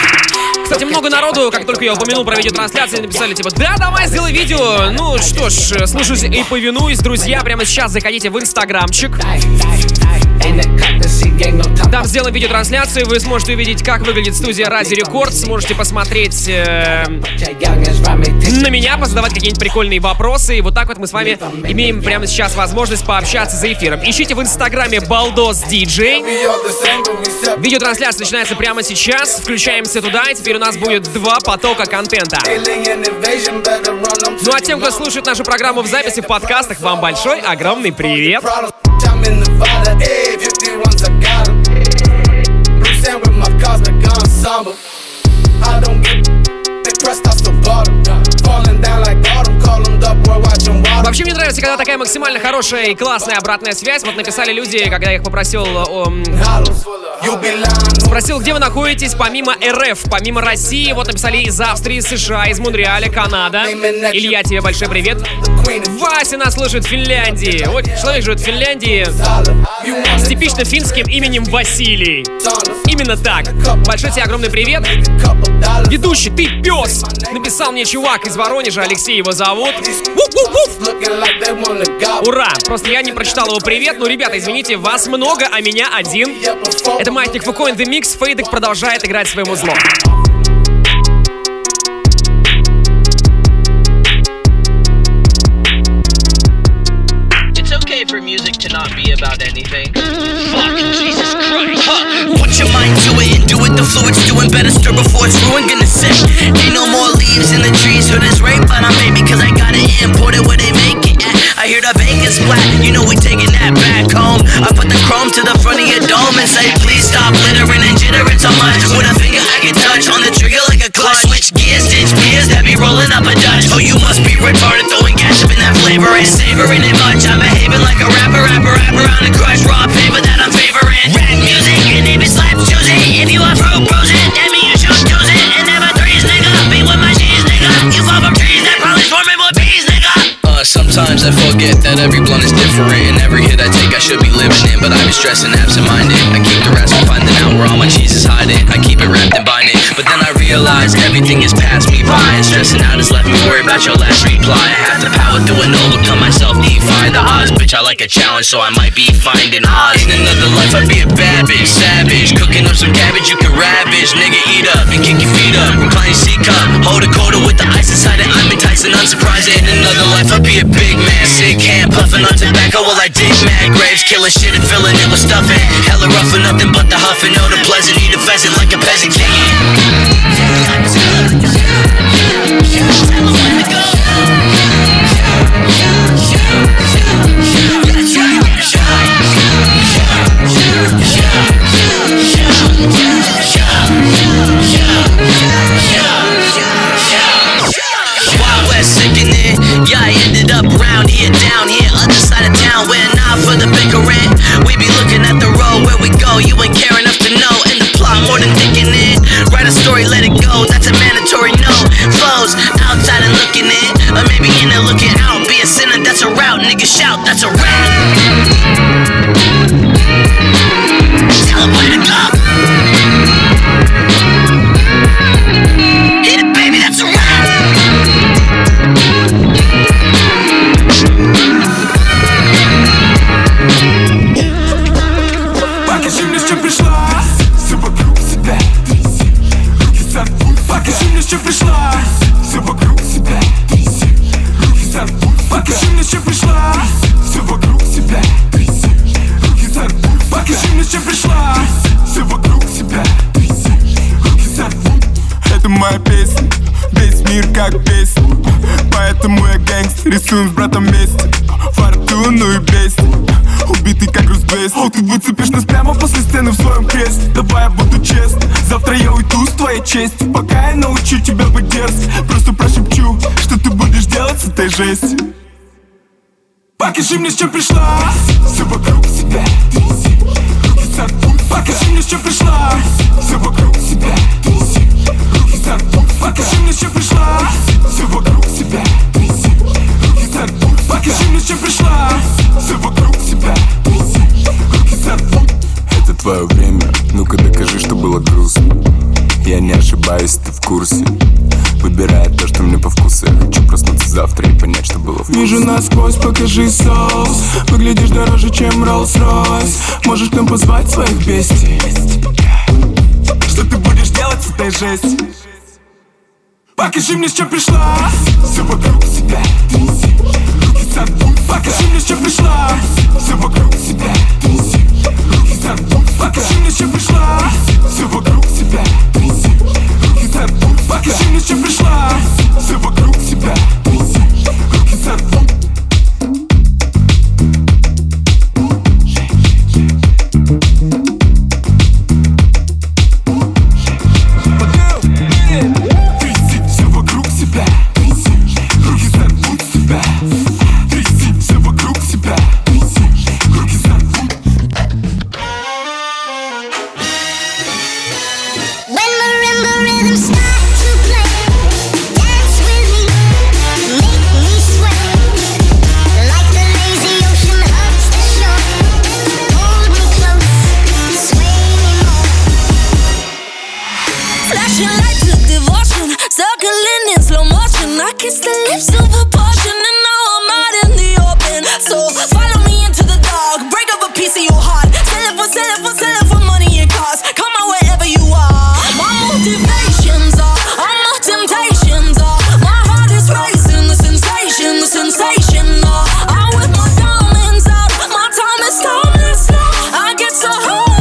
народу, как только я упомянул про видеотрансляции, написали типа: да, давай, сделай видео. Ну что ж, слушаюсь и повинуюсь, друзья. Прямо сейчас заходите в инстаграмчик. Там сделаем видеотрансляцию, вы сможете увидеть, как выглядит студия Ради Рекордс. Сможете посмотреть на меня, позадавать какие-нибудь прикольные вопросы. И вот так вот мы с вами имеем прямо сейчас возможность пообщаться за эфиром. Ищите в инстаграме Балдос Диджей. Видеотрансляция начинается прямо сейчас. Включаемся туда, и теперь у нас будет 2 потока контента. Ну а тем, кто слушает нашу программу в записи в подкастах, вам большой, огромный привет! Вообще мне нравится, когда такая максимально хорошая и классная обратная связь. Вот написали люди, когда я их попросил, спросил, где вы находитесь помимо РФ, помимо России. Вот написали из Австрии, США, из Монреаля, Канада. Илья, тебе большой привет. Вася нас слушает в Финляндии. Вот человек живет в Финляндии с типично финским именем Василий. Именно так. Большой тебе огромный привет. Ведущий, ты пес! Написал мне чувак из Воронежа, Алексей его зовут. Ура! Просто я не прочитал его привет. Ну, ребята, извините, вас много, а меня один. Это Маятник Фуко in the Mix. Фейдек продолжает играть своим узлом. For music to not be about anything. Fuck, Jesus Christ. Put your mind to it and do it. The fluid's doing better. Stir before it's ruined. Gonna say, ain't no more leaves in the trees. Hood is right, but I'm baby, cause I got it imported where they make it at. I hear the Vegas flat. You know we taking that back home. I put the chrome to the front of your dome and say, please stop littering and jittering so much. With a finger I can touch on the trigger like a clutch. Switch gears, ditch gears, that be rolling up a Dutch. Oh, you must be retarded, throwing gas up in that flavor and savoring it much. I'm behaving like a rapper on the crush, raw paper that I'm favoring. Rap music, and if it slaps, choose it. If you want fruit, bruise it. That mean you should choose it. And never threes, nigga. Be with my cheese, nigga. You fall from trees that probably swarming with bees, nigga. Sometimes I forget that every blunt is different, and every hit I take I should be living in, but I be stressing absent-minded. I keep the rest from finding out where all my cheese is hiding. I keep it wrapped and binding, but then I realize everything is past me by, and stressing out has left me worried about your last reply. I have the power to and overcome myself, defy the odds. Bitch, I like a challenge, so I might be finding odds. In another life I'd be a bad bitch, savage, cooking up some cabbage you can ravage. Nigga, eat up and kick your feet up, recline your seat cup, hold a quarter with the ice inside it. I'm enticing, unsurprising. In another life I'd be a big man, sick hand, puffing on tobacco while I dig mad graves, killing shit and filling it with stuffing. Hella rough for nothing but the huffing, know the pleasant, eat a pheasant like a peasant king. Wild West sickening, yeah, I ended up around here, down here, other side of town, where not for the bickering. We be looking at the road where we go, you ain't care enough to know, and the plot more than thinking it. Write a story, let it go, that's a mandatory no. Flows, outside and looking in, or maybe in and looking out. Be a sinner, that's a route, nigga shout, that's a rap. Tell him where to go. Hit it, baby, that's a rap. Покажи мне, с чем пришла, все вокруг себя. Руки сорвут. Покажи мне, с чем пришла, все вокруг себя. Руки сорвут. Покажи мне, с чем пришла, все вокруг себя. Руки сорвут. Покажи мне, с чем пришла, все вокруг себя. Руки сорвут. Это моя песня, весь мир как песня. Поэтому я гэнгстер, рисуем с братом вместе. Фортуну и бедствие, убитый как груз 200. О, ты выцепишь нас прямо после сцены в своем кресле. Давай я буду честным, завтра я уйду с твоей честью. Пока я научу тебя быть дерзким, просто прошепчу, что ты будешь делать с этой жестью. Покажи мне, с чем пришла, все вокруг себя. Руки сорвут. Покажи мне, с чем пришла, все вокруг себя. Руки сорвут. Покажи мне, с чем пришла, все вокруг себя. Руки сорвут. Покажи мне, с чем пришла, все вокруг себя. Руки сорвут. Это твое время, ну-ка докажи, что было грустно. Я не ошибаюсь, ты в курсе. Выбирая то, что мне по вкусу. Я хочу проснуться завтра и понять, что было вкусно. Вижу насквозь, покажи соус. Выглядишь дороже, чем Rolls-Royce. Можешь к нам позвать своих бестий. Что ты будешь делать с этой жестью? Покажи мне, с чем пришла. Все вокруг себя. Руки за дум. Покажи мне, с чем пришла. Все вокруг себя. Руки за дум. Покажи мне, с чем пришла. Все вокруг себя. Руки за дум. Покажи мне, с чем пришла. Все вокруг себя. Руки за дум. Kiss the lips of a portion, and now I'm out in the open. So follow me into the dark, break up a piece of your heart. Sell it for money and cars. Come on wherever you are. My motivations are, all my temptations are. My heart is racing, the sensation are. I'm with my diamonds out, my time is timeless now. I get so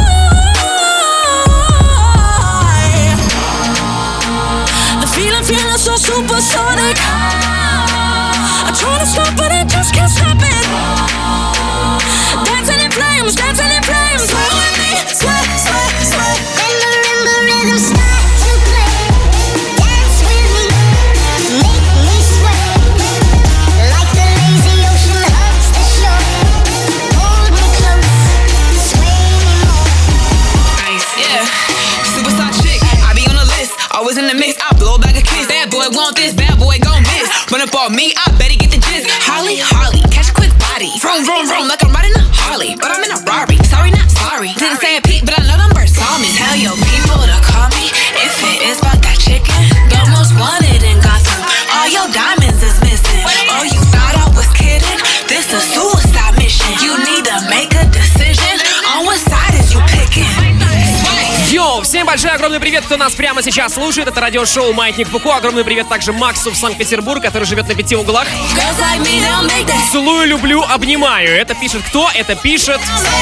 high. The feeling so supersonic. I try to stop but I just can't stop it. Dancing in flames, sway with me, sway. When the rhythm starts to play, dance with me, make me sway. Like the lazy ocean hugs the shore. Hold me close, sway me more. Nice, yeah. Superstar chick, I be on the list, always in the mix. I blow back a kiss. Bad boy want this, bad boy gon' miss. Run up on me, I bet he get the gist. Holly, catch a quick body. Vroom, like I'm riding a Harley, but I'm in a Rari. Sorry, not sorry. Didn't say a peep, but I know them birds saw me. Tell your people to call me if it is about that chicken. The most wanted in Gotham. All your diamonds is missing. Oh, you thought I was kidding? This a suicide mission. You need to make a decision on what side is you picking. Йоу, всем большой огромный привет, кто нас прямо сейчас слушает. Это радиошоу «Маятник Фуко». Огромный привет также Максу в Санкт-Петербург, который живет на 5 углах. Целую, люблю, обнимаю. Это пишет кто? Это пишет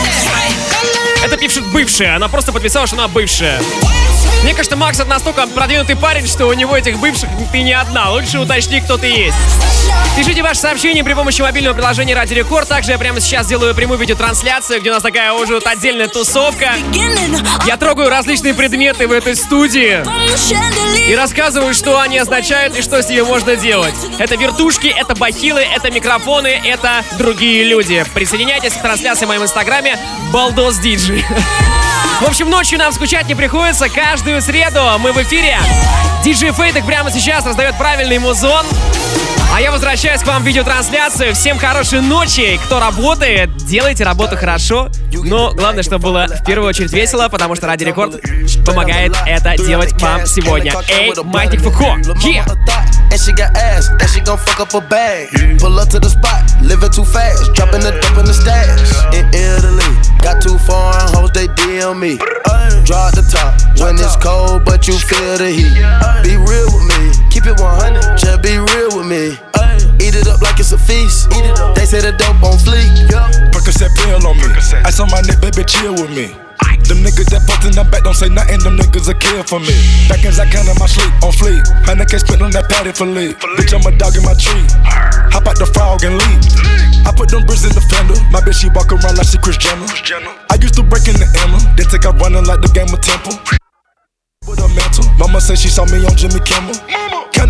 бывшая. Она просто подписала, что она бывшая. Мне кажется, Макс это настолько продвинутый парень, что у него этих бывших ты не одна. Лучше уточни, кто ты есть. Пишите ваши сообщения при помощи мобильного приложения Радио Рекорд. Также я прямо сейчас делаю прямую видеотрансляцию, где у нас такая уже вот отдельная тусовка. Я трогаю различные предметы в этой студии и рассказываю, что они означают и что с ними можно делать. Это вертушки, это бахилы, это микрофоны, это другие люди. Присоединяйтесь к трансляции в моем инстаграме Балдос Диджей. В общем, ночью нам скучать не приходится. Каждую среду мы в эфире. Диджей Фейтек прямо сейчас раздает правильный музон. А я возвращаюсь к вам в видеотрансляцию. Всем хорошей ночи. Кто работает, делайте работу хорошо. Но главное, чтобы было в первую очередь весело, потому что Радио Рекорд помогает это делать вам сегодня. Эй, Маятник Фуко. And she got ass, and she gon' fuck up a bag. Pull up to the spot, living too fast, dropping the dope in the stash. In Italy, got 2 foreign hoes, they DM me. Draw at the top when it's cold, but you feel the heat. Be real with me, keep it 100, just be real with me. Eat it up like it's a feast. They say the dope on fleek. Percocet pill on me. Ice on my neck, baby, chill with me. Them niggas that fucked in the back don't say nothing, them niggas a kill for me. Back ends I count in my sleep, on fleek. 100K spent on that patty for lead. Bitch, I'm a dog in my tree. Hop out the frog and leap. I put them bricks in the fender. My bitch, she walk around like she Kris Jenner. I used to break in the Emma, then take out running like the game of Temple. With a mantle, mama said she saw me on Jimmy Kimmel.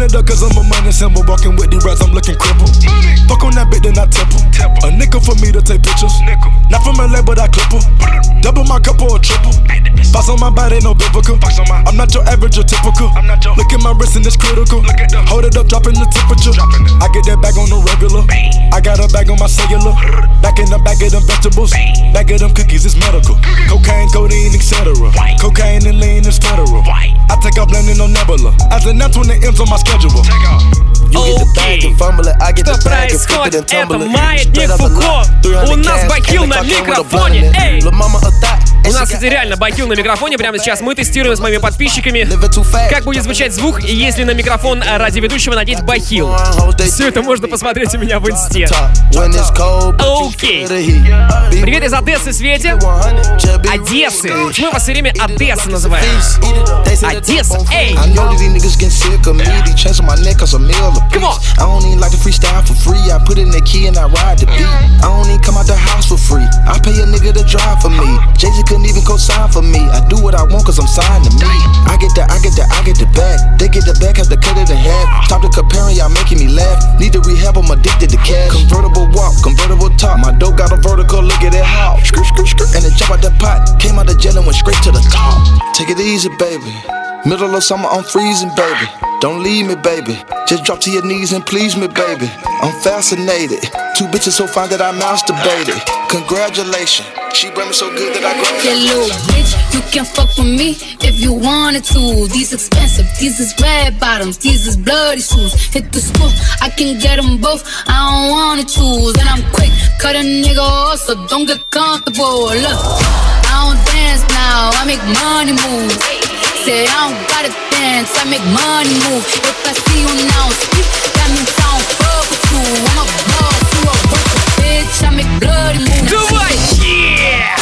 run it up cause I'm a money symbol. Walking with these rats, I'm looking crippled. Fuck on that bitch, then I temple. A nickel for me to take pictures. Not from LA, but I clip her. Double my cup or a triple. Box on my body, no biblical. I'm not your average or typical. Look at my wrist and it's critical. Hold it up, dropping the temperature. I get that bag on the regular. I got a bag on my cellular. Back in the bag of them vegetables. Bag of them cookies, it's medical. Cocaine, codeine, etc. Cocaine and lean is federal. I take off landing on Nebula. As an F when the M's on my schedule. Окей, что происходит? Это Маятник Фуко. У нас Бахил на микрофоне. Эй! У нас, кстати, реально Бахил на микрофоне. Прямо сейчас мы тестируем с моими подписчиками, как будет звучать звук, если на микрофон радиоведущего надеть Бахил. Все это можно посмотреть у меня в инсте. Окей. Привет из Одессы, Свете. Одессы. Почему я вас все время Одесса называю? Одесса, эй! Come on. I don't even like to freestyle for free. I put in the key and I ride the beat. I don't even come out the house for free. I pay a nigga to drive for me. Jay-Z couldn't even co-sign for me. I do what I want cause I'm signed to me. I get the bag. They get the bag, have to cut it in half. Stop the comparing, y'all making me laugh. Need to rehab, I'm addicted to cash. Convertible walk, convertible talk. My dope got a vertical, look at it how. And it jump out the pot. Came out the jail and went straight to the top. Take it easy, baby. Middle of summer, I'm freezing, baby. Don't leave me, baby. Just drop to your knees and please me, baby. I'm fascinated. Two bitches so fine that I masturbated. Congratulations. She brought me so good that I graduated. Yeah, little bitch, you can fuck with me if you wanted to. These expensive, these is red bottoms, these is bloody shoes. Hit the school, I can get them both. I don't wanna choose. And I'm quick, cut a nigga off, so don't get comfortable. Look, I don't dance now, I make money move. Say I don't gotta dance, I make money move. If I see you now speak, that means I don't fuck with you. I'm a boss, you a worker, bitch, I make bloody moves. Давай! Yeah!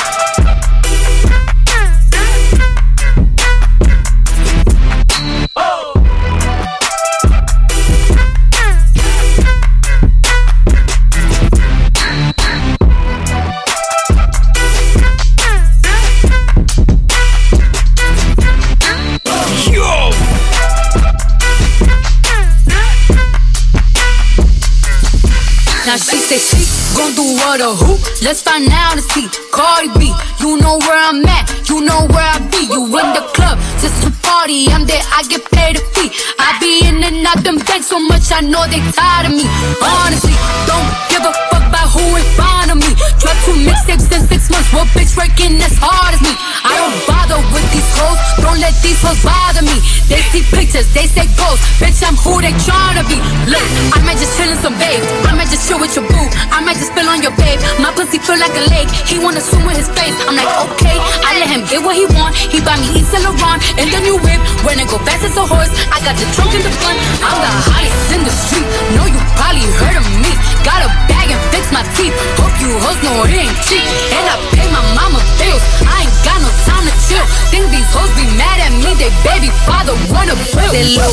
Now she say she gon' do what or who? Let's find out and see. Cardi B, you know where I'm at, you know where I be. You in the club, just to party, I'm there, I get paid a fee. I be in and out them banks so much, I know they tired of me. Honestly, don't give a fuck about who in front of me. Drop 2 mixtapes in 6 months, what bitch working as hard as me? I don't bother with these hoes, don't let these hoes bother me. They see pictures, they say ghosts, bitch I'm who they tryna be. Look, I might just chill in some babes, I might just chill with your boo, I might just spill on your babe. My pussy feel like a lake, he wanna swim with his face. I'm like okay, I let him get what he want. He buy me Yves Saint Laurent and the new whip. When it go fast as a horse, I got the trunk in the front. I'm the hottest in the street, know you probably heard of me. Got a bag and fix my teeth, hope you hoes know it ain't cheap. And I pay my mama bills, I ain't got no time to chill. Think these hoes be mad at me, they baby father wanna bill. They low.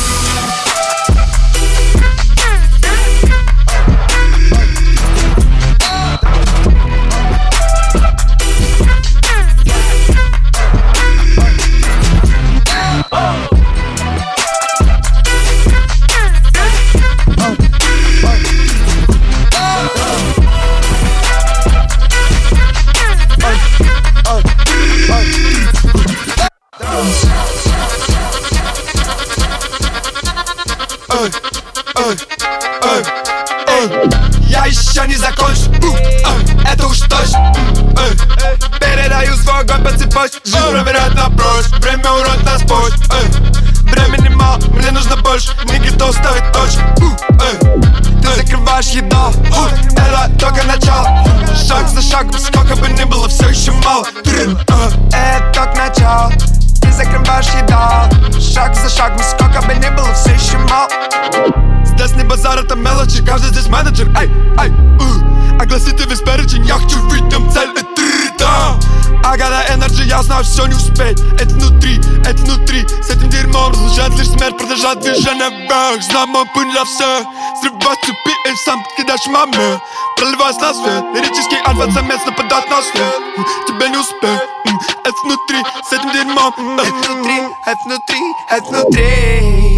Я еще не закончу, это уж точно. Передаю свой огонь по цепочке, жизнь проверяет на прочь. Время урод нас позже, времени мало, мне нужно больше. Не готов ставить точку. Ты закрываешь еду, это только начало. Шаг за шагом, сколько бы ни было, все еще мало. Это только начало. Ты закрываешь еду, шаг за шагом, сколько бы ни было, все еще мало. Здесь не базар, это мелочи, каждый здесь менеджер. Огласите весь перечень, я хочу видеть цель. I got that energy, я знаю, все не успеть. Это внутри, с этим дерьмом разлучает лишь смерть, продолжать движение вверх. Знаю мой путь для всех, срывать цепи и сам покидаешь маме. Проливаясь на свет, лирический альфа-самец нападает на след. Тебе не успеть, это внутри, с этим дерьмом. Это внутри,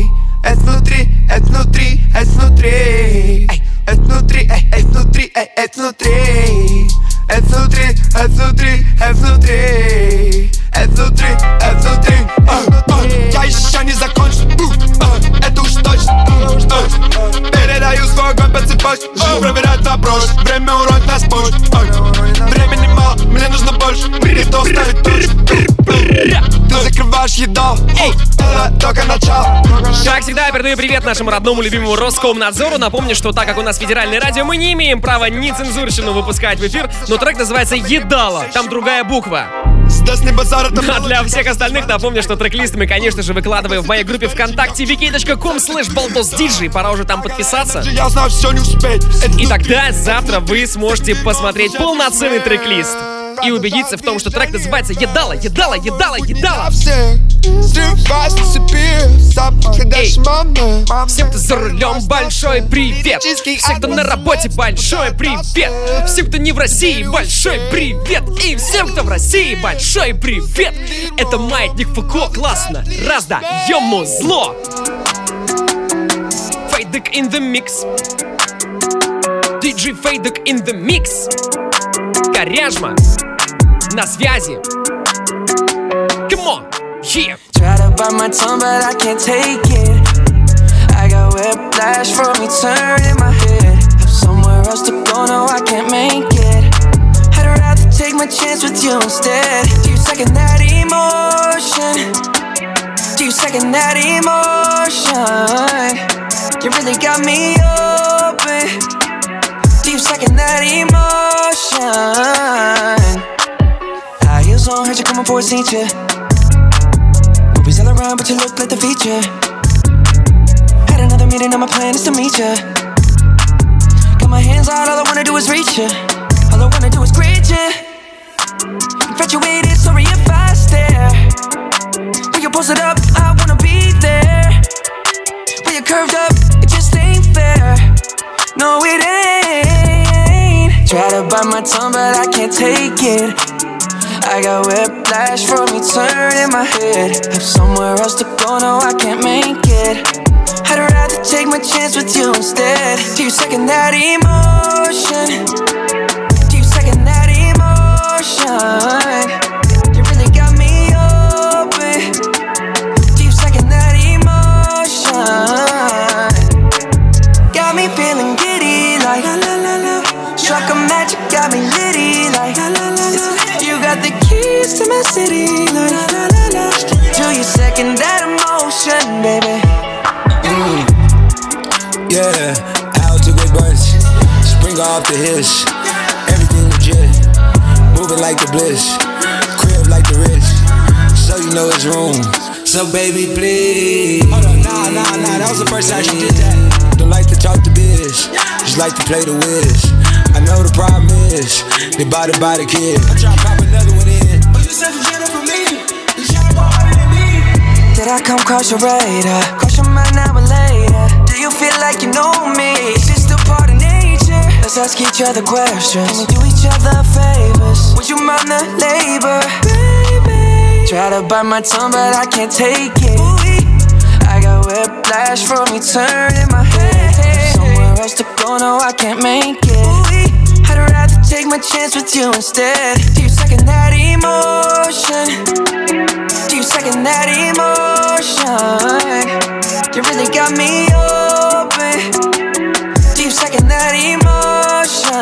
это внутри, это внутри, это внутри. Это внутри, это внутри, это внутри. Это внутри, это внутри, это внутри. Это внутри, это внутри. Я еще не закончил, это уж точно. Передаю свой огонь по цепочке. Проверяют на брошь, время уронит нас позже. Времени мало, мне нужно больше. Приток ставит точку. Ты закрываешь еду, это только начало. Как всегда, я передаю привет нашему родному любимому Роскомнадзору. Напомню, что так как у нас федеральное радио, мы не имеем права нецензурщину выпускать в эфир, но трек называется «Едало», там другая буква. А для всех остальных напомню, что трек-лист мы, конечно же, выкладываем в моей группе ВКонтакте vk.com/baldosdj. Пора уже там подписаться. И тогда завтра вы сможете посмотреть полноценный трек-лист и убедиться в том, что трек называется «Едало, едало, едало, едало». Эй, всем, кто за рулем, большой привет. Всем, кто на работе, большой привет. Всем, кто не в России, большой привет. И всем, кто в России, большой привет. Это Маятник Фуко, классно, раздаем музло. Фейдек in the mix. DJ Фейдек in the mix. Коряжма на связи. Come on, yeah. Try to bite my tongue, but I can't take it. I got whiplash from you turning my head. Have somewhere else to go, no, I can't make it. I'd rather take my chance with you instead. Do you second that emotion? Do you second that emotion? You really got me open. Do you second that emotion? High heels on, heard you coming for a teacher. Movies all around, but you look like the feature. Had another meeting, and my plan is to meet ya. Got my hands out, all I wanna do is reach ya. All I wanna do is greet ya. Infatuated, sorry if I stare. When you post it up, I wanna be there. When you're curved up, it just ain't fair. No, it ain't. Try to bite my tongue, but I can't take it. I got whiplash from you turning my head. Have somewhere else to go, no, I can't make it. I'd rather take my chance with you instead. Do you second that emotion? Do you second that emotion? You really got me open. Do you second that emotion? Got me feeling giddy like la la la la. Struck a match, you got me litty like la la la la. You got the keys to my city like la la la la. Do you second that emotion, baby? Yeah, out to good bunch. Spring off the hiss. Everything legit. Moving like the bliss. Crib like the rich. So you know it's room. So baby, please. Hold on, nah. That was the first time she did that. Don't like to talk to biz. Just like to play the whiz. I know the problem is they bought it by the kid. I'm tryna pop another one in. Oh, you said you get it from me. You tryna go harder than me. Did I come cross your radar? Cross your mind now or later? Do you feel like you know me? Is it still part of nature? Let's ask each other questions. Can we do each other favors? Would you mind the labor? Baby, try to bite my tongue, but I can't take it. I got whiplash from you turning my head. Somewhere else to go, no, I can't make it. I'd rather take my chance with you instead. Do you second that emotion? Do you second that emotion? You really got me open. Do you second that emotion?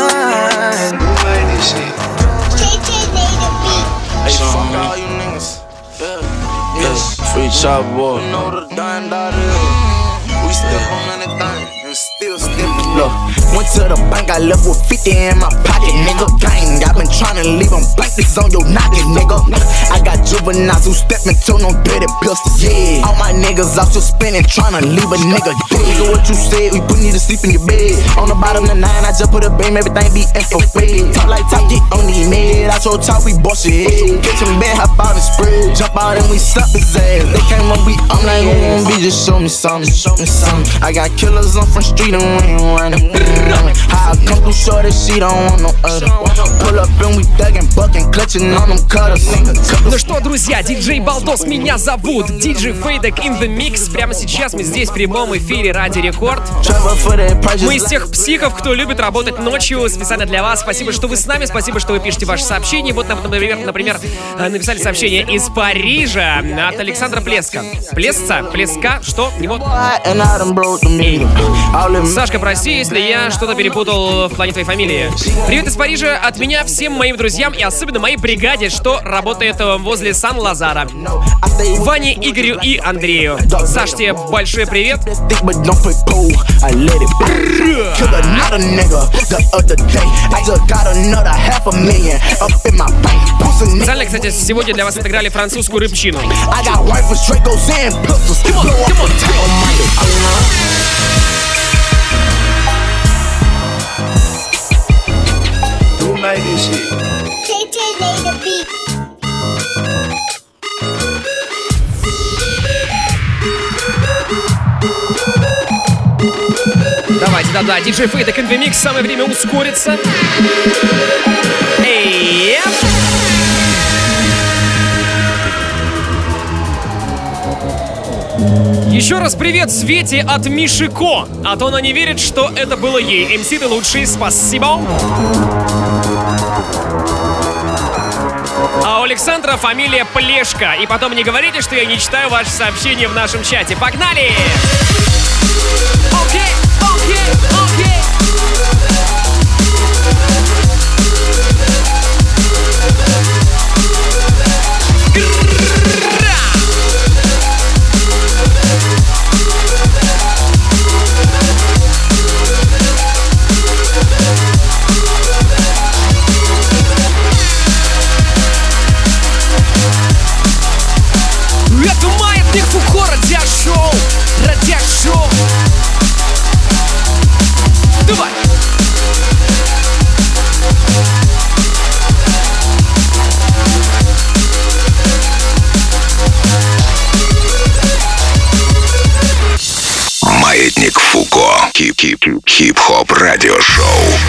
Hey, fuck all you niggas. Yes, free chop boy. You know the dime dollar. We still on anything and still stepping. Look, went to the bank, I left with 50 in my pocket, nigga. Gang, I been tryna leave them blank, this on your knockin', nigga. I got juveniles who step into no dirty pistols. Yeah, all my niggas out still spinning, tryna leave a nigga dead. Nigga, what you said, we put you to sleep in your bed. On the bottom of the 9, I just put a beam, everything be infrared. Talk like top, get on the mid. I told top, we bust your head. Get some bed, hop out and spread. Jump out and we stop his ass. They came on, I'm like, who gon' be, just show me something, show me something. I got killers on front street and we ain't running. How I come through short as she don't want no other. Pull up and we thuggin', buckin', clutchin' on them cutters. Ну что, друзья, диджей Балдос меня зовут, диджей Фейдек in the Mix. Прямо сейчас мы здесь в прямом эфире Ради Рекорд. Мы из тех психов, кто любит работать ночью специально для вас. Спасибо, что вы с нами, спасибо, что вы пишете ваши сообщения. Вот, например, написали сообщение из Парижа от Александра Плеска. Плеска? Что? Не вот. Сашка, прости, если я что-то перепутал в плане твоей фамилии. Привет из Парижа от меня всем моим друзьям и особенно моей бригаде, что работает возле Сан-Лазара. Ване, Игорю и Андрею. Саш, тебе большой привет. Специально, кстати, сегодня для вас отыграли французскую рыбчину. Давайте, да-да, диджей Фейдек in the Mix, самое время ускориться. Эй! Еще раз привет Свете от Мишико. А то она не верит, что это было ей. МС, ты лучший, спасибо. А у Александра фамилия Плешка. И потом не говорите, что я не читаю ваши сообщения в нашем чате. Погнали! Окей. Это Маятник Фуко, радиошоу. Давай! Маятник Фуко. Хип-хоп радиошоу.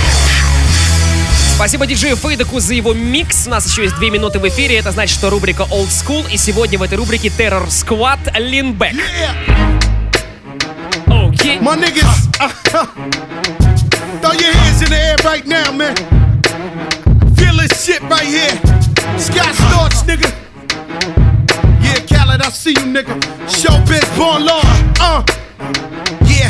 Спасибо диджею Фейдеку за его микс. У нас еще есть 2 минуты в эфире. Это значит, что рубрика Old School. И сегодня в этой рубрике Terror Squad Lean Back. Окей. My niggas, throw your hands in the air right now, man. Feel this shit right here. Scott Storch, nigga. Yeah, Khaled, I see you, nigga. Showbiz, born law. Yeah.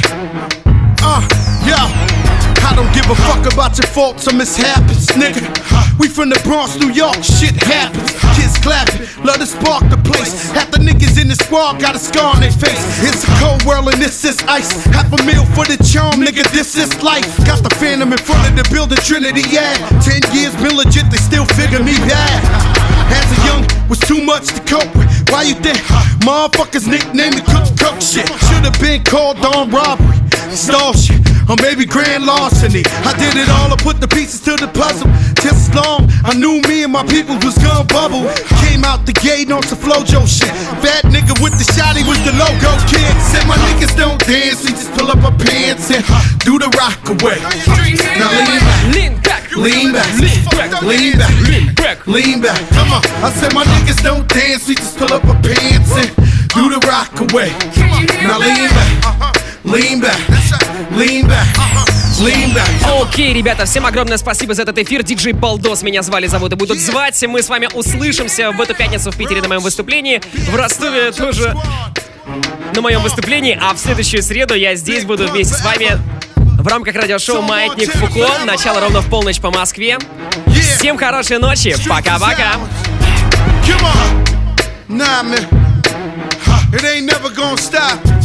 Yo. I don't give a fuck about your faults or mishaps, nigga. We from the Bronx, New York, shit happens. Kids clapping, love to spark the place. Half the niggas in the squad got a scar on their face. It's a cold world and this is ice. $500,000 for the charm, nigga, this is life. Got the Phantom in front of the building, Trinity, yeah. 10 years been legit, they still figure me bad. As a young, was too much to cope with. Why you think motherfuckers nickname me cook shit? Should've been called on robbery, stall shit, or maybe grand larceny. I did it all, I put the pieces to the puzzle. Just as long, I knew me and my people was gonna bubble. Came out the gate on some Flojo shit. Fat nigga with the shotty was the logo kid. Said my niggas don't dance, we just pull up our pants and do the rock away. Now lean back, lean back, lean back, lean back, lean back, lean back. Come on, I said my niggas don't dance, we just pull up our pants and do the rock away. Now lean back. Lean back, lean back, lean back. Окей, ребята, всем огромное спасибо за этот эфир. Диджей Балдос меня зовут и будут звать. Мы с вами услышимся в эту пятницу в Питере на моем выступлении. В Ростове тоже на моем выступлении. А в следующую среду я здесь буду вместе с вами в рамках радиошоу «Маятник Фуко». Начало ровно в полночь по Москве. Всем хорошей ночи. Пока-пока. Nah, man, it ain't never gonna stop.